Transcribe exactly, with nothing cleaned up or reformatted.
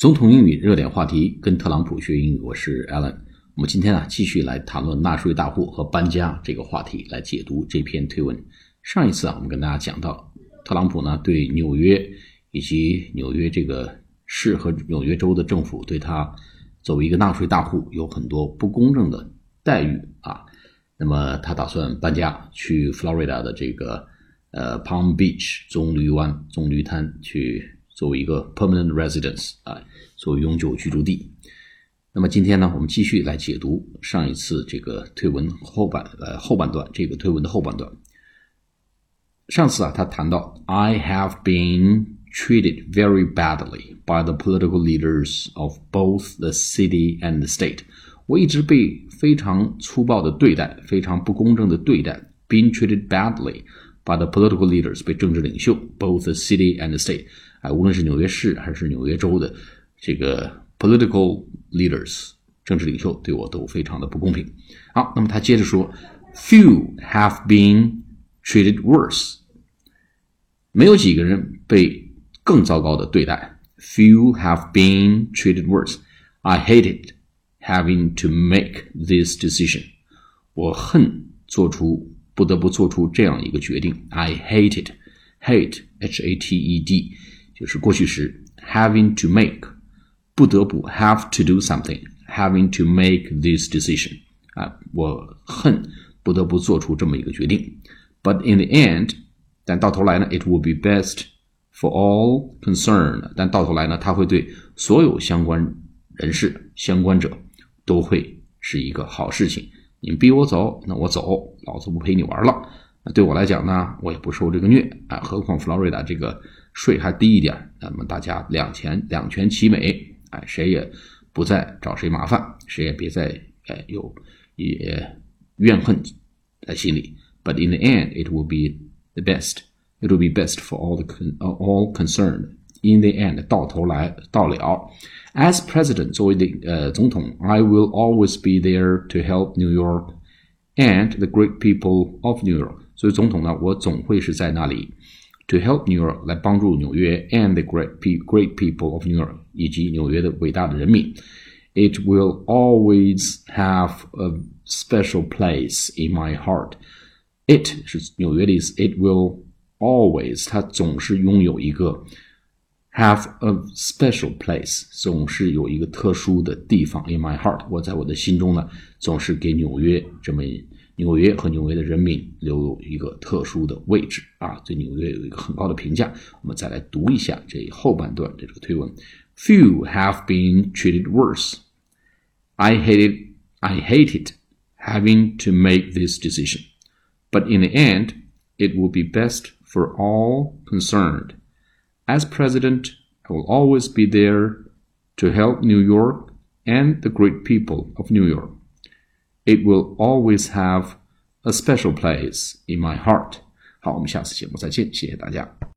总统英语热点话题，跟特朗普学英语，我是 Alan。我们今天啊继续来谈论纳税大户和搬家这个话题，来解读这篇推文。上一次啊，我们跟大家讲到，特朗普呢对纽约以及纽约这个市和纽约州的政府对他作为一个纳税大户有很多不公正的待遇啊。那么他打算搬家去 Florida 的这个呃 Palm Beach 棕榈湾棕榈滩去作为一个 permanent residence 啊，作为永久居住地。那么今天呢，我们继续来解读上一次这个推文后半呃后半段，这个推文的后半段。上次啊，他谈到 I have been treated very badly by the political leaders of both the city and the state。我一直被非常粗暴的对待，非常不公正的对待。Being treated badly by the political leaders， 被政治领袖 both the city and the state。啊，无论是纽约市还是纽约州的这个 political leaders 政治领袖对我都非常的不公平。好，那么他接着说 Few have been treated worse， 没有几个人被更糟糕的对待。Few have been treated worse. I hated having to make this decision. 我恨做出不得不做出这样一个决定。 I hated hate H A T E D就是过去时 having to make 不得不 have to do something having to make this decision 啊，我恨不得不做出这么一个决定。 But in the end 但到头来呢 it will be best for all concerned 但到头来呢它会对所有相关人士相关者都会是一个好事情。你逼我走，那我走，老子不陪你玩了。那对我来讲呢，我也不受这个虐啊，何况 Florida 这个税还低一点，那么大家两全两全其美，哎，谁也不再找谁麻烦，谁也别再哎有也怨恨在心里。But in the end, it will be the best. It will be best for all the all concerned. In the end, 到头来到了。As president, 作为的呃总统 I will always be there to help New York and the great people of New York. 所以总统呢，我总会是在那里 to help New York 来帮助纽约 and the great, great people of New York 以及纽约的伟大的人民。It will always have a special place in my heart. It 是纽约的意思 It will always 它总是拥有一个have a special place 总是有一个特殊的地方 in my heart 我在我的心中呢总是给纽约这么纽约和纽约的人民留有一个特殊的位置啊，对纽约有一个很高的评价。我们再来读一下这后半段的这个推文。 Few have been treated worse. I hated, I hated having to make this decision. But in the end, it will be best for all concerned.As president, I will always be there to help New York and the great people of New York. It will always have a special place in my heart. 好，我们下次节目再见，谢谢大家。